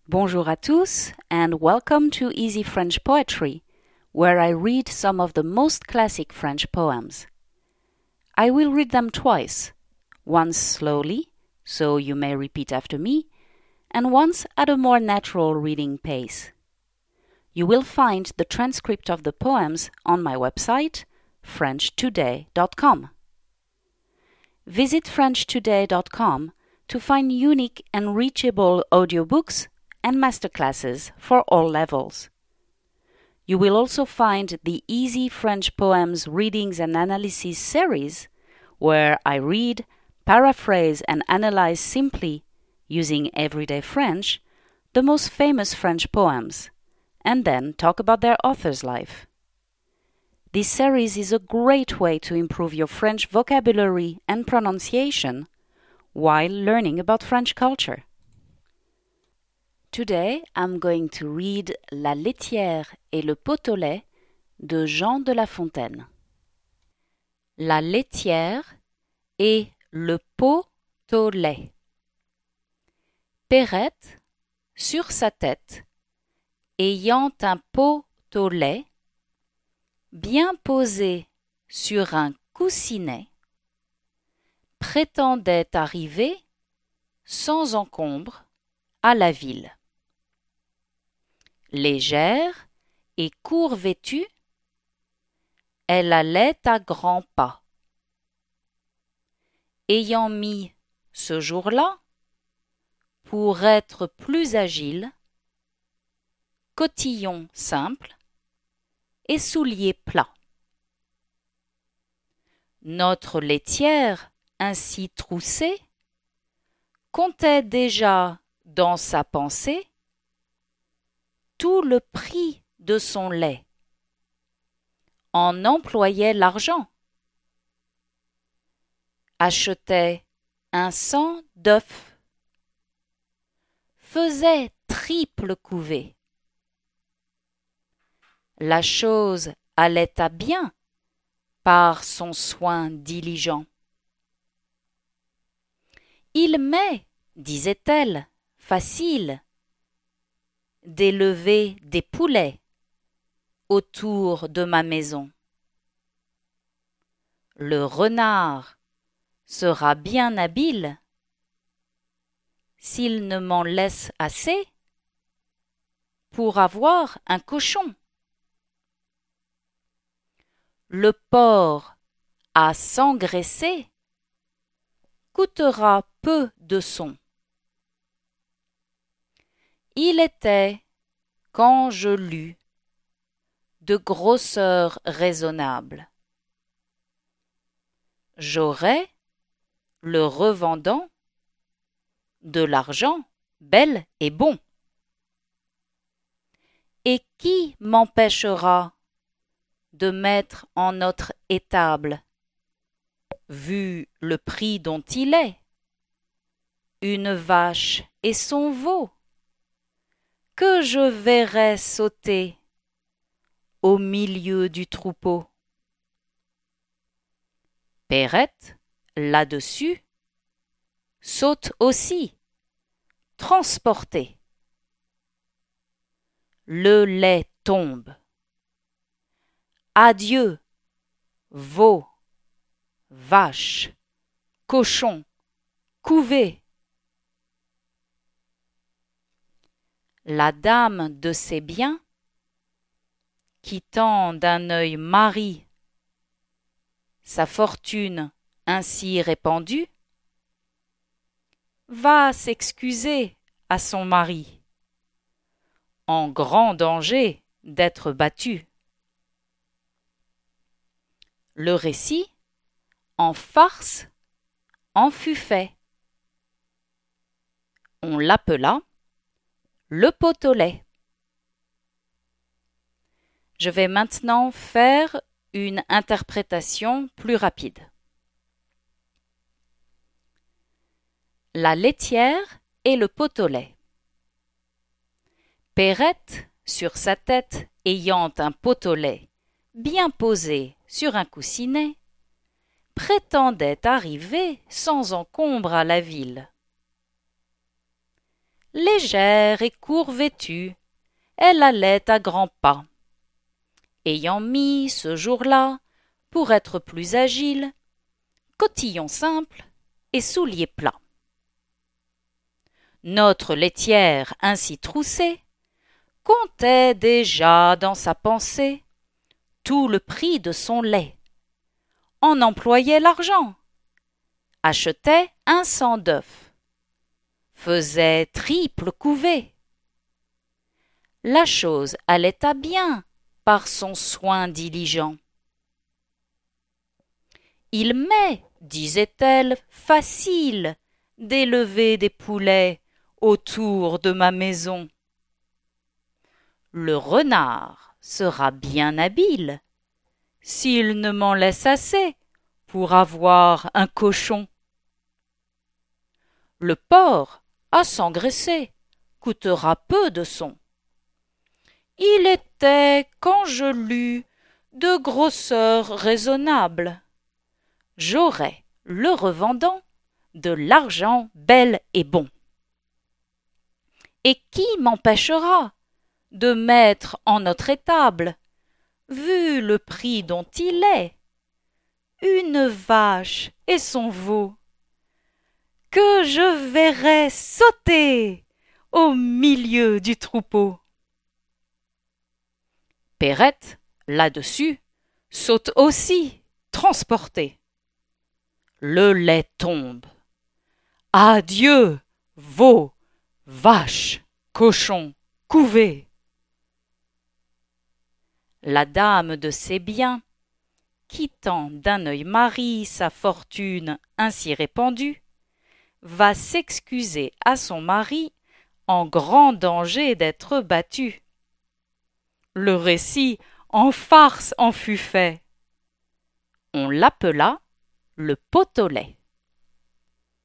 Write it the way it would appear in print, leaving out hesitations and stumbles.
Bonjour à tous and welcome to Easy French Poetry, where I read some of the most classic French poems. I will read them twice, once slowly, so you may repeat after me, and once at a more natural reading pace. You will find the transcript of the poems on my website, FrenchToday.com. Visit FrenchToday.com to find unique and reachable audiobooks and masterclasses for all levels. You will also find the Easy French Poems Readings and Analysis series, where I read, paraphrase and analyze simply, using everyday French, the most famous French poems, and then talk about their author's life. This series is a great way to improve your French vocabulary and pronunciation while learning about French culture. Today I'm going to read La laitière et le pot au lait de Jean de La Fontaine. La laitière et le pot au lait. Perrette, sur sa tête, ayant un pot au lait, bien posé sur un coussinet, prétendait arriver, sans encombre, à la ville. Légère et court vêtue, elle allait à grands pas. Ayant mis, ce jour-là, pour être plus agile, cotillon simple et souliers plats. Notre laitière, ainsi troussée, comptait déjà dans sa pensée tout le prix de son lait, en employait l'argent, achetait un 100 d'œufs, faisait triple couvée. La chose allait à bien par son soin diligent. Il m'est, disait-elle, facile d'élever des poulets autour de ma maison. Le renard sera bien habile s'il ne m'en laisse assez pour avoir un cochon. Le porc à s'engraisser coûtera peu de son. Il était, quand je lus, de grosseur raisonnable. J'aurais, le revendant, de l'argent bel et bon. Et qui m'empêchera de mettre en notre étable, vu le prix dont il est, une vache et son veau, que je verrais sauter au milieu du troupeau. Perrette, là-dessus, saute aussi, transportée. Le lait tombe. Adieu, veau, vache, cochon, couvée. La dame de ses biens, quittant d'un œil mari sa fortune ainsi répandue, va s'excuser à son mari, en grand danger d'être battue. Le récit, en farce, en fut fait. On l'appela le pot au lait. Je vais maintenant faire une interprétation plus rapide. La laitière et le pot au lait. Perrette, sur sa tête ayant un pot au lait bien posé sur un coussinet, prétendait arriver sans encombre à la ville. Légère et court-vêtue, elle allait à grands pas. Ayant mis ce jour-là, pour être plus agile, cotillon simple et souliers plats. Notre laitière ainsi troussée comptait déjà dans sa pensée tout le prix de son lait, en employait l'argent, achetait 100 d'œufs, faisait triple couvée. La chose allait à bien par son soin diligent. Il m'est, disait-elle, facile d'élever des poulets autour de ma maison. Le renard sera bien habile s'il ne m'en laisse assez pour avoir un cochon. Le porc, à s'engraisser, coûtera peu de son. Il était, quand je l'eus, de grosseur raisonnable. J'aurais, le revendant, de l'argent bel et bon. Et qui m'empêchera de mettre en notre étable, vu le prix dont il est, une vache et son veau, que je verrais sauter au milieu du troupeau. Perrette, là-dessus, saute aussi, transportée. Le lait tombe. Adieu, veau, vache, cochon, couvée. La dame de ses biens, quittant d'un œil Marie sa fortune ainsi répandue, va s'excuser à son mari en grand danger d'être battu. Le récit en farce en fut fait. On l'appela le pot au lait.